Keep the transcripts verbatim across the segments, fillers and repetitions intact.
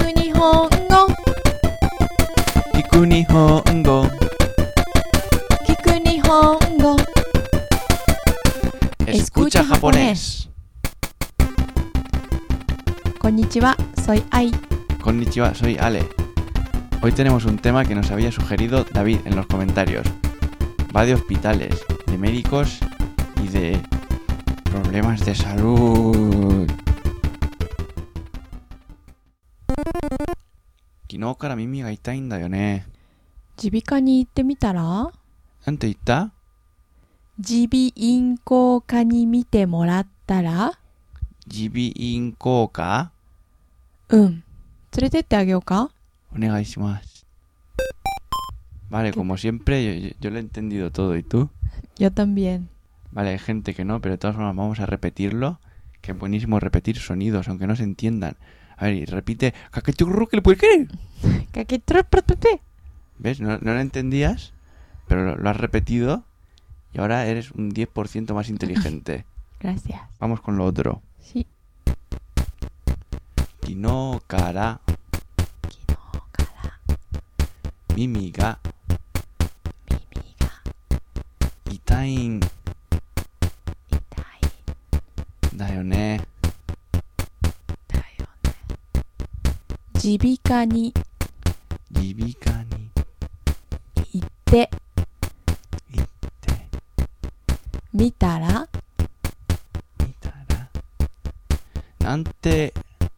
く日本語聞く日本語聞く日本語 Escucha japonés. Konnichiwa, soy Ai. Konnichiwa, soy Ale. Hoy tenemos un tema que nos había sugerido David en los comentarios. Va de hospitales, de médicos y de problemas de salud. Kino kara mimi ga itaiんだよね。 耳鼻科に行ってみたら？ なんて言った？ 耳鼻咽喉科に見てもらったら？ 耳鼻咽喉科？ うん。連れてってあげようか？ お願いします。Vale, como siempre, yo, yo, yo lo he entendido todo. ¿Y tú? Yo también. Vale, hay gente que no, pero de todas formas vamos a repetirlo. Que es buenísimo repetir sonidos, aunque no se entiendan. A ver, y repite. ¿Ves? No, no lo entendías, pero lo, lo has repetido y ahora eres un diez por ciento más inteligente. Gracias. Vamos con lo otro. Sí. Kino kara mimi ga itaiんだよね。 耳鼻科に耳鼻科に行って行ってみたら？ 見たらなんて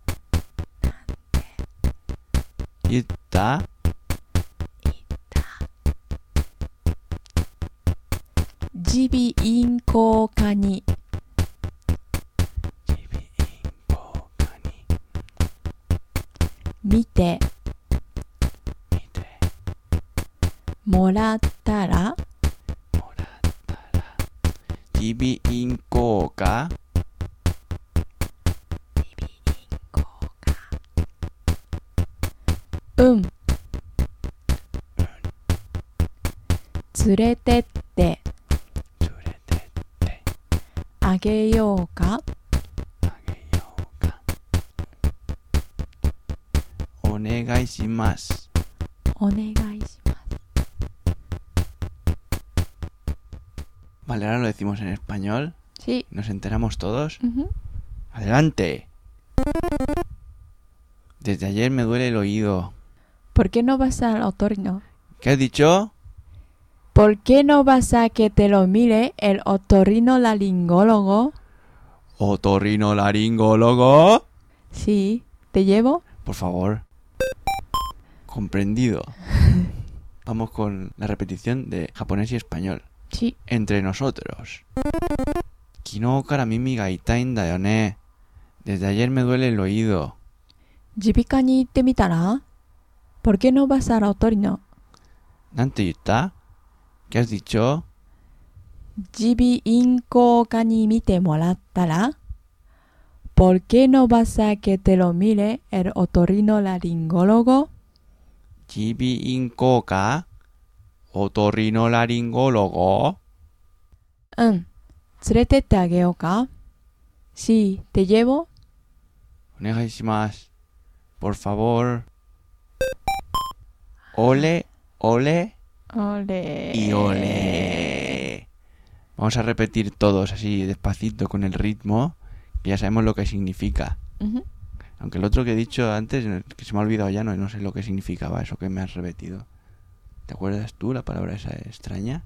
言った？ 耳鼻咽喉科に耳鼻咽喉科に見て見てもらったら？ もらったら耳鼻咽喉科うん連れてって連れてってあげようか？ あげようか。お願いします。 お願いします。 Vale, ahora lo decimos en español. Sí. ¿Nos enteramos todos? Uh-huh. ¡Adelante! Desde ayer me duele el oído. ¿Por qué no vas al otorrino? ¿Qué has dicho? ¿Por qué no vas a que te lo mire el otorrinolaringólogo? ¿Otorrinolaringólogo? Sí. ¿Te llevo? Por favor. Comprendido. Vamos con la repetición de japonés y español. Sí. Entre nosotros. Kino kara mimi ga itaiんだよね. Desde ayer me duele el oído. 耳鼻科に行ってみたら？ ¿Por qué no vas al otorrino? なんて言った? ¿Qué has dicho? 耳鼻咽喉科に見てもらったら？ ¿Por qué no vas a que te lo mire el otorrinolaringólogo? 耳鼻咽喉科? ¿Otorrinolaringólogo? うん。連れてってあげようか？ Sí. ¿Te llevo? お願いします。Por favor. Ole, ole Ole. y ole. Vamos a repetir todos así despacito con el ritmo, que ya sabemos lo que significa. Uh-huh. Aunque el otro que he dicho antes, que se me ha olvidado ya, no, no sé lo que significaba eso que me has repetido. ¿Te acuerdas tú la palabra esa extraña?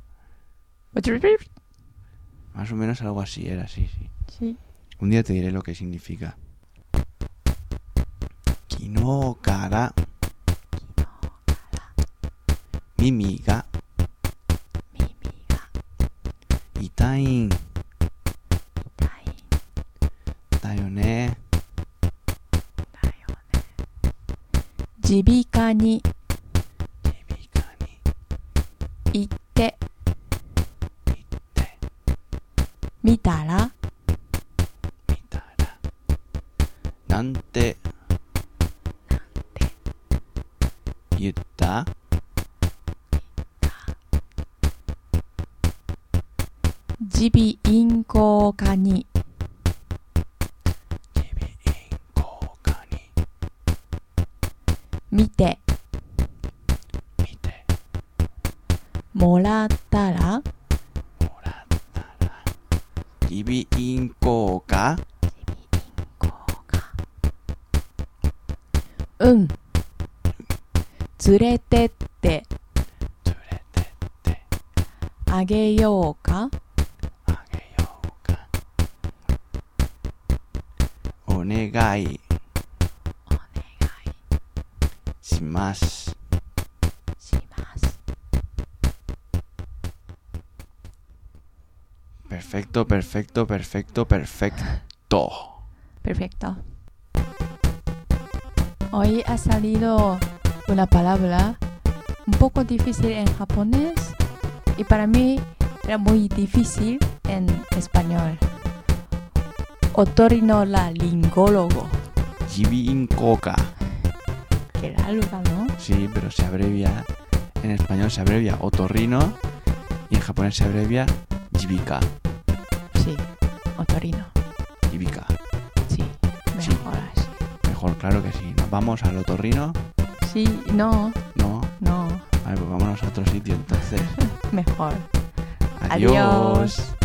Más o menos algo así era, sí, sí. Sí. Un día te diré lo que significa. Kino kara mimi ga itaiんだよね。 耳鼻科に耳鼻科に行って行ってみたら？ 見たらなんて言った？ 耳鼻咽喉科に耳鼻咽喉科に見て mite, もらったら morattara, jibi inko ka, うん連れてって tsuretette, あげようか ageyo ka, onegai, お願い shimasu. します Perfecto, perfecto, perfecto, perfecto. Perfecto. Hoy ha salido una palabra un poco difícil en japonés y para mí era muy difícil en español. Otorinolaringólogo. Jibi inko ka. Qué larga, ¿no? Sí, pero se abrevia, en español se abrevia otorrino y en japonés se abrevia jibika. Sí, otorino. Jibika. Sí, mejor así. Mejor, claro que sí. Nos vamos al otorrino. Sí, no, No. no, Vale, pues vámonos a otro sitio entonces. mejor. Adiós. Adiós.